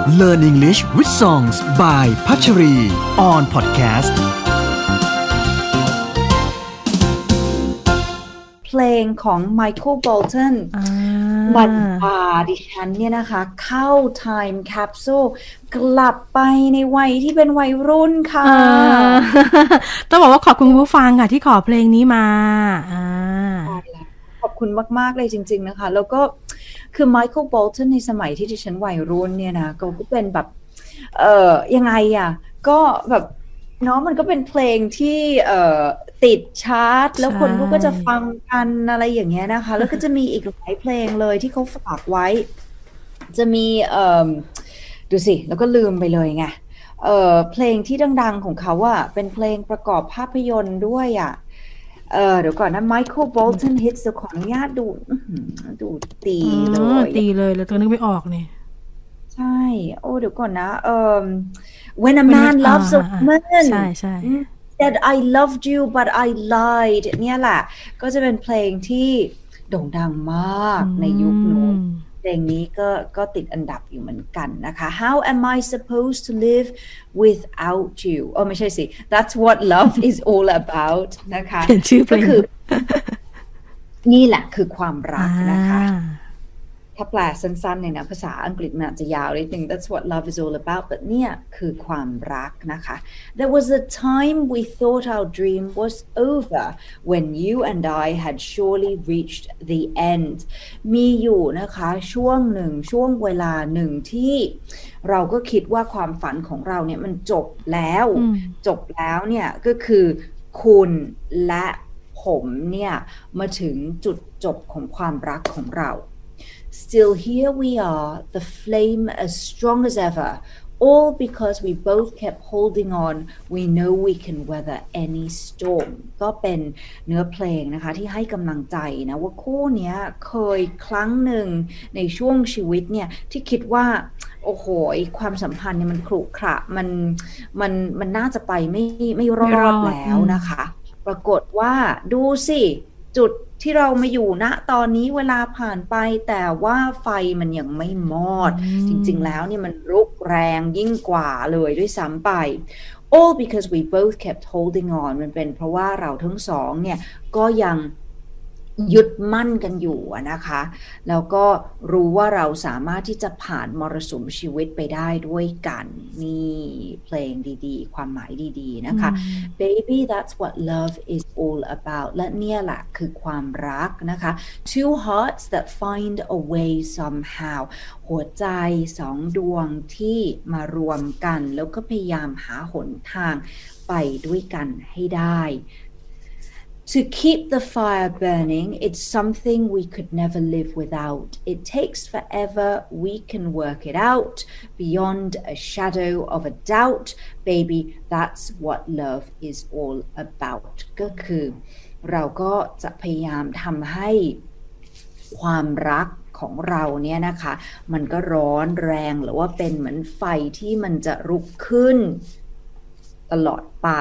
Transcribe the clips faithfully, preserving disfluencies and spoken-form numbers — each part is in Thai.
Learn English with Songs by พัชรี on podcast เพลงของ Michael Bolton มันพาดิฉันเนี่ยนะคะเข้า Time Capsule กลับไปในวัยที่เป็นวัยรุ่นค่ะต้องบอกว่าขอบคุณผู้ฟังค่ะที่ขอเพลงนี้มาขอบคุณมากๆเลยจริงๆนะคะแล้วก็คือ Michael Bolton ในสมัยที่ดิฉันวัยรุ่นเนี่ยนะก็เป็นแบบเอ่อยังไงอ่ะก็แบบเนาะมันก็เป็นเพลงที่เอ่อติดชาร์ตแล้วคนก็จะฟังกันอะไรอย่างเงี้ยนะคะแล้วก็จะมีอีกหลายเพลงเลยที่เขาฝากไว้จะมีเอ่อดูสิแล้วก็ลืมไปเลยไงเอ่อเพลงที่ดังๆของเขาอะเป็นเพลงประกอบภาพยนตร์ด้วยอะเออเดี๋ยวก่อนนะ Michael Bolton Hits ขออนุญาตดูดูตีเลยตีเลยแล้วตัวนึกไม่ออกเนี่ยใช่โอ้เดี๋ยวก่อนนะเอ่อ When a man loves a woman ใช่ใช่ said I loved you but I lied เนี่ยแหละก็จะเป็นเพลงที่โด่งดังมากในยุคนู้นเพลงนี้ก็ก็ติดอันดับอยู่เหมือนกันนะคะ How am I supposed to live without you อ๋อไม่ใช่สิ That's what love is all about นะคะเป็นชื่อเพลงก็คือนี่แหละคือความรักนะคะถ้าแปลสั้นๆในนะภาษาอังกฤษมันอาจจะยาวนิดนึง That's what love is all about แต่เนี่ยคือความรักนะคะ There was a time we thought our dream was over when you and I had surely reached the end มีอยู่นะคะช่วงหนึ่งช่วงเวลาหนึ่งที่เราก็คิดว่าความฝันของเราเนี่ยมันจบแล้วจบแล้วเนี่ยก็คือคุณและผมเนี่ยมาถึงจุดจบของความรักของเราStill here we are, the flame as strong as ever, all because we both kept holding on. We know we can weather any storm. ก็เป็นเนื้อเพลงนะคะที่ให้กำลังใจนะว่าคู่เนี้ยเคยครั้งหนึ่งในช่วงชีวิตเนี่ยที่คิดว่าโอ้โหความสัมพันธ์เนี่ยมันขรุขระมันมันมันน่าจะไปไม่ไม่รอดแล้วนะคะปรากฏว่าดูสิจุดที่เรามาอยู่ณตอนนี้เวลาผ่านไปแต่ว่าไฟมันยังไม่มอดจริงๆแล้วเนี่ยมันรุกแรงยิ่งกว่าเลยด้วยซ้ำไป all because we both kept holding on มันเป็นเพราะว่าเราทั้งสองเนี่ยก็ยังยึดมั่นกันอยู่นะคะแล้วก็รู้ว่าเราสามารถที่จะผ่านมรสุมชีวิตไปได้ด้วยกันนี่เพลงดีๆความหมายดีๆนะคะ Baby that's what love is all about และเนี่ยแหละคือความรักนะคะ Two hearts that find a way somehow หัวใจสองดวงที่มารวมกันแล้วก็พยายามหาหนทางไปด้วยกันให้ได้To keep the fire burning, it's something we could never live without. It takes forever, we can work it out, beyond a shadow of a doubt. Baby, that's what love is all about. ก็คือเราก็จะพยายามทำให้ความรักของเราเนี่ยนะคะมันก็ร้อนแรงหรือว่าเป็นเหมือนไฟที่มันจะลุกขึ้นตลอดไป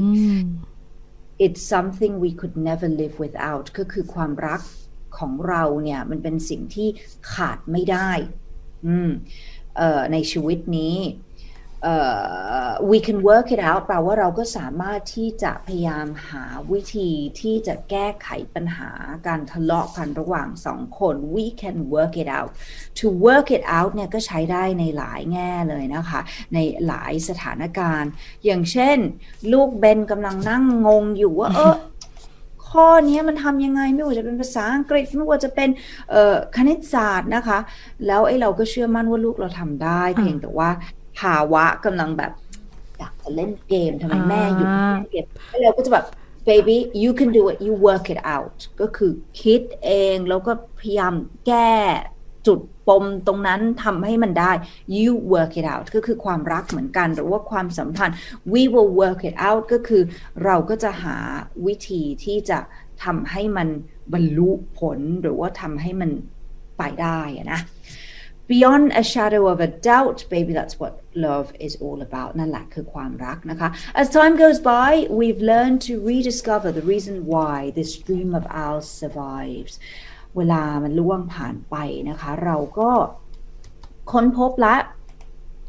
It's something we could never live without ก็คือความรักของเราเนี่ยมันเป็นสิ่งที่ขาดไม่ได้ในชีวิตนี้ uh, we can work it out แปลว่าเราก็สามารถที่จะพยายามหาวิธีที่จะแก้ไขปัญหาการทะเลาะกันระหว่างสองคน we can work it out to work it out เนี่ยก็ใช้ได้ในหลายแง่เลยนะคะในหลายสถานการณ์อย่างเช่นลูกเบนกำลังนั่งงงอยู่ว่าเออข้อนี้มันทำยังไงไม่ว่าจะเป็นภาษาอังกฤษไม่ว่าจะเป็นคณิตศาสตร์นะคะแล้วไอ้เราก็เชื่อมั่นว่าลูกเราทำได้เพียงแต่ว่าภาวะกำลังแบบอยากจะเล่นเกมทำไมแม่หยุดเล่นเกมแล้วเราก็จะแบบ baby you can do it you work it out ก็คือคิดเองแล้วก็พยายามแก้จุดปมตรงนั้นทำให้มันได้ you work it out ก็คือความรักเหมือนกันหรือว่าความสัมพันธ์ we will work it out ก็คือเราก็จะหาวิธีที่จะทำให้มันบรรลุผลหรือว่าทำให้มันไปได้นะ Beyond a shadow of a doubt baby that's what love is all about นั่นแหละคือความรักนะคะ As time goes by we've learned to rediscover the reason why this dream of ours survives เวลามันล่วงผ่านไปนะคะเราก็ค้นพบละ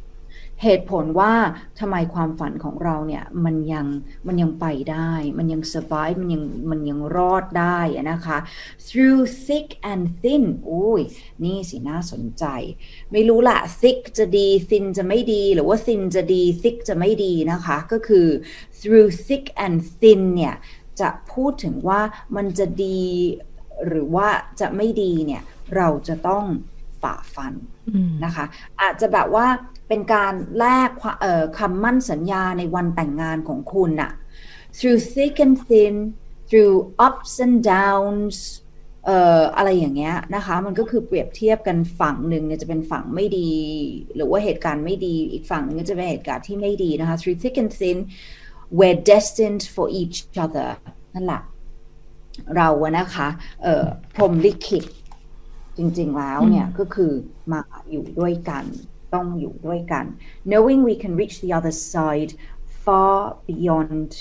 เหตุผลว่าทำไมความฝันของเราเนี่ยมันยังมันยังไปได้มันยัง survive มันยังมันยังรอดได้นะคะ through thick and thin อุ้ยนี่สิน่าสนใจไม่รู้ละ thick จะดี thin จะไม่ดีหรือว่า thin จะดี thick จะไม่ดีนะคะก็คือ through thick and thin เนี่ยจะพูดถึงว่ามันจะดีหรือว่าจะไม่ดีเนี่ยเราจะต้องฝ่าฟันนะคะอาจจะแบบว่าเป็นการแลกคำมั่นสัญญาในวันแต่งงานของคุณน่ะ through thick and thin through ups and downs เอ่ออะไรอย่างเงี้ยนะคะมันก็คือเปรียบเทียบกันฝั่งหนึ่งเนี่ยจะเป็นฝั่งไม่ดีหรือว่าเหตุการณ์ไม่ดีอีกฝั่งนึงก็จะเป็นเหตุการณ์ที่ไม่ดีนะคะ through thick and thin we're destined for each other นั่นแหละเราอะนะคะเอ่อพรหมลิขิตจริงๆแล้วเนี่ยก็คือมาอยู่ด้วยกันต้องอยู่ด้วยกัน knowing we can reach the other side far beyond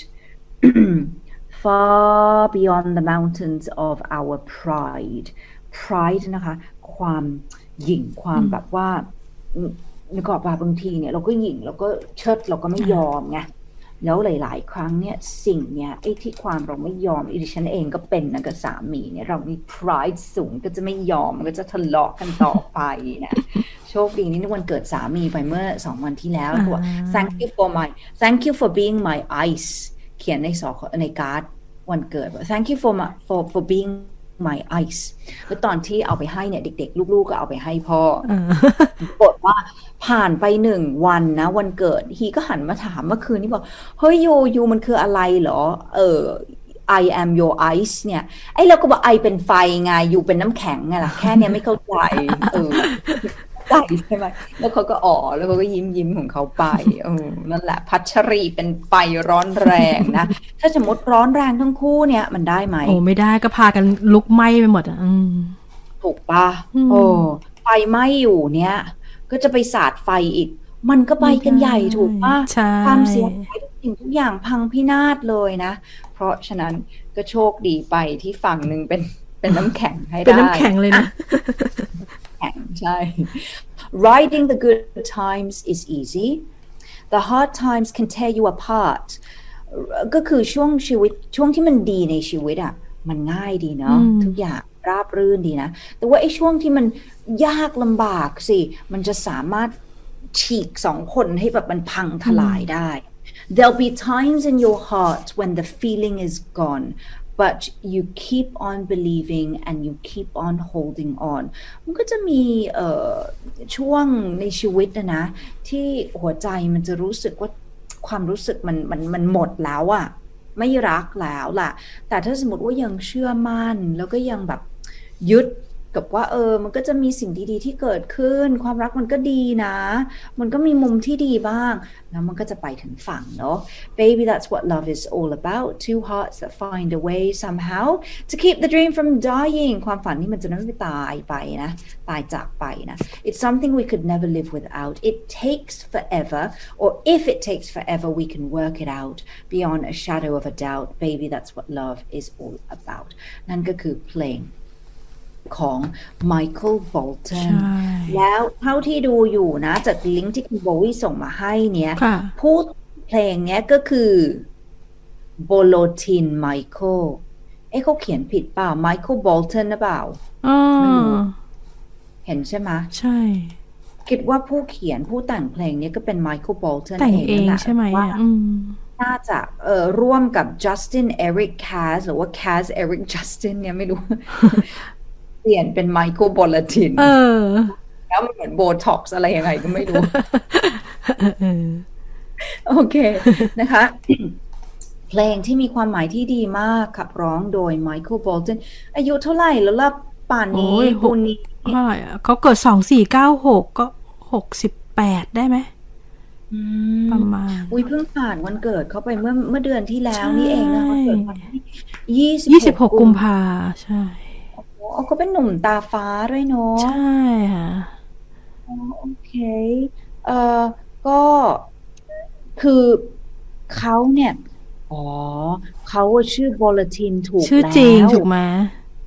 far beyond the mountains of our pride pride นะคะความหยิ่งความแบบว่านึกออกป่ะบางทีเนี่ยเราก็หยิ่งเราก็เชิดเราก็ไม่ยอมไงแล้วหลายๆครั้งเนี่ยสิ่งเนี่ยไอ้ที่ความเราไม่ยอมดิฉันเองก็เป็นนะกับสามีเนี่ยเรามี pride สูงก็จะไม่ยอมก็จะทะเลาะกันต่อไปนะโชคดีนี่วันเกิดสามีไปเมื่อสองวันที่แล้วบอก thank you for my thank you for being my ice เขียนในสอในการ์ดวันเกิด thank you for my for for being my ice แล้วตอนที่เอาไปให้เนี่ยเด็กๆลูกๆก็เอาไปให้พ่อปรากฏว่าผ่านไปหนึ่งวันนะวันเกิดฮีก็หันมาถามเมื่อคืนนี้บอกเฮ้ยยูยูมันคืออะไรเหรอเออ I am your ice เนี่ยไอ้เราก็บอกไอเป็นไฟไงยูเป็นน้ำแข็งไงล่ะแค่เนี้ยไม่เข้าใจเออใจใช่ไหมแล้วเขาก็อ๋อแล้วเขาก็ยิ้มยิ้มของเขาไปเออนั่นแหละพัชรีเป็นไฟร้อนแรงนะถ้าสมมติร้อนแรงทั้งคู่เนี่ยมันได้ไหมโอ้ไม่ได้ก็พากันลุกไหม้ไปหมดอ่ะถูกป่ะโอ้ไฟไหม้อยู่เนี่ยก็จะไปสาดไฟอีกมันก็ไปกันใหญ่ถูกป่ะความเสียหายทุกสิ่งทุกอย่างพังพินาศเลยนะเพราะฉะนั้นก็โชคดีไปที่ฝั่งหนึ่งเป็นเป็นน้ำแข็งให้ได้เป็นน้ำแข็งเลยนะแข็งใช่ Riding the good times is easy the hard times can tear you apart ก็คือช่วงชีวิตช่วงที่มันดีในชีวิตอ่ะมันง่ายดีเนาะทุกอย่างราบรื่นดีนะแต่ว่าไอ้ช่วงที่มันยากลำบากสิมันจะสามารถฉีกสองคนให้แบบมันพังทลายได้ There'll be times in your heart when the feeling is gone but you keep on believing and you keep on holding on มันก็จะมีเอ่อช่วงในชีวิตนะนะที่หัวใจมันจะรู้สึกว่าความรู้สึกมันมันมันหมดแล้วอะไม่รักแล้วล่ะแต่ถ้าสมมติว่ายังเชื่อมั่นแล้วก็ยังแบบยึดกับว่าเออมันก็จะมีสิ่งดีๆที่เกิดขึ้นความรักมันก็ดีนะมันก็มีมุมที่ดีบ้างแล้วมันก็จะไปถึงฝั่งเนาะ Baby that's what love is all about two hearts that find a way somehow to keep the dream from dying ความฝันนี่มันจะไม่ตายไปนะตายจากไปนะ It's something we could never live without it takes forever or if it takes forever we can work it out beyond a shadow of a doubt Baby that's what love is all about นั่นก็คือเพลงของ Michael Bolton แล้วเท่าที่ดูอยู่นะจากลิงก์ที่คุณโบวี่ส่งมาให้เนี่ยพูดเพลงเนี้ยก็คือ Bolotin Michael เอ๊ะเขาเขียนผิดเปล่า Michael Bolton หรือเปล่าไม่รู้เห็นใช่ไหมใช่คิดว่าผู้เขียนผู้แต่งเพลงนี้ก็เป็น Michael Bolton แต่งเองใช่ไหมว่าน่าจะเอ่อร่วมกับ Justin Eric Kaz หรือว่า Kaz Eric Justin เนี่ยไม่รู้เปลี่ยนเป็นไมเคิล บอลตินแล้วมันเหมือนโบท็อกซ์อะไรยังไงก็ไม่รู้โอเคนะคะเพลงที่มีความหมายที่ดีมากขับร้องโดยไมเคิล บอลตินอายุเท่าไหร่แล้วล่ะป่านนี้ปุนี้เท่าไหร่อ่ะเขาเกิดสองสี่เก้าหกก็หกสิบแปดได้ไหมประมาณอุ้ยเพิ่งผ่านวันเกิดเขาไปเมื่อเมื่อเดือนที่แล้วนี่เองนะเขาเกิดวันที่ยี่สิบยี่สิบหกกุมภาใช่อ๋อก็เป็นหนุ่มตาฟ้าด้วยเนาะใช่ค่ะโอเคเอ่อก็คือเขาเนี่ยอ๋อเขาชื่อบอลตินถูกแล้วชื่อจริงถูกไหม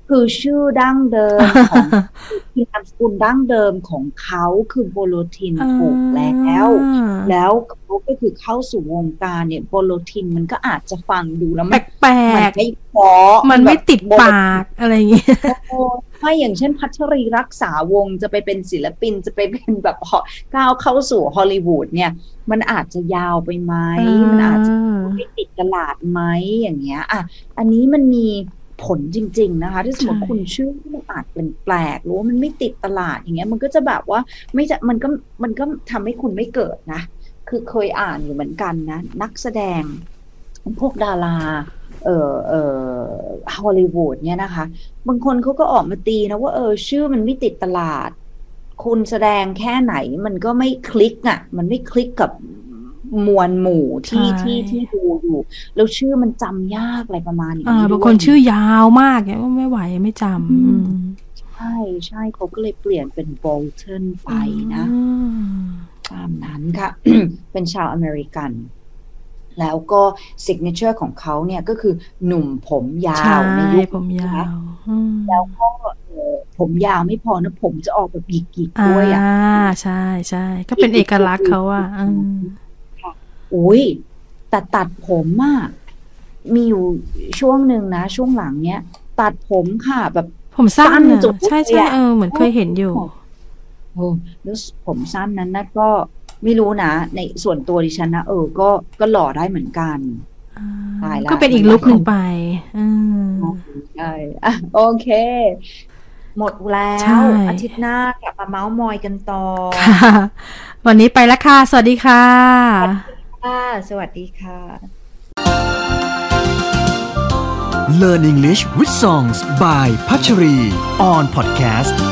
คือชื่อดั้งเดิมของคือนามสกุลดั้งเดิมของเขาคือโบโลทินถูกแล้วแล้วเขาก็คือเข้าสู่วงการเนี่ยโบโลทินมันก็อาจจะฟังดูแล้วมันแปลกๆไม่เพราะมันไม่ติดปากอะไรอย่างเงี้ยไม่อย่างเช่นพัชรีรักษาวงจะไปเป็นศิลปินจะไปเป็นแบบก้าวเข้าสู่ฮอลลีวูดเนี่ยมันอาจจะยาวไปไหมมันอาจจะไม่ติดตลาดไหมอย่างเงี้ยอ่ะอันนี้มันมีผลจริงๆนะคะถ้าสมมติคุณชื่อมันอาจเป็นแปลกหรือว่ามันไม่ติดตลาดอย่างเงี้ยมันก็จะแบบว่าไม่จะมันก็มันก็ทำให้คุณไม่เกิดนะคือเคยอ่านอยู่เหมือนกันนะนักแสดงพวกดาราเอ่อเอ่อฮอลลีวูดเนี่ยนะคะบางคนเขาก็ออกมาตีนะว่าเออชื่อมันไม่ติดตลาดคุณแสดงแค่ไหนมันก็ไม่คลิกอ่ะมันไม่คลิกกับมวลหมู่ที่ที่ที่ดูอยู่แล้วชื่อมันจำยากอะไรประมาณนี้อ่าบางคนชื่อยาวมากเนี่ยไม่ไหวไม่จำใช่ใช่เขาก็เลยเปลี่ยนเป็นโบลตันไปนะตามนั้นค่ะ เป็นชาวอเมริกันแล้วก็ซิกเนเจอร์ของเขาเนี่ยก็คือหนุ่มผมยาวในยุคผมยาวแล้วก็ผมยาวไม่พอนะผมจะออกแบบหยิกๆด้วยอ่ะอ่าใช่ใช่ก็เป็นเอกลักษณ์เขาอ่ะอุ้ยแต่ตัดผมอ่ะมีอยู่ช่วงหนึ่งนะช่วงหลังเนี้ยตัดผมค่ะแบบผมสั้นจุดใช่ใช่เออเหมือนเคยเห็นอยู่โอ้แล้วผมสั้นนั้นนะก็ไม่รู้นะในส่วนตัวดิฉันนะเออก็ก็หล่อได้เหมือนกันตายแล้วก็เป็นอีกลุคหนึ่งไปอืมใช่อ่ะโอเคหมดแล้วอาทิตย์หน้ากลับมาเม้ามอยกันต่อค่ะวันนี้ไปแล้วค่ะสวัสดีค่ะสวัสดีค่ะ Learn English with Songs by Pachari on podcast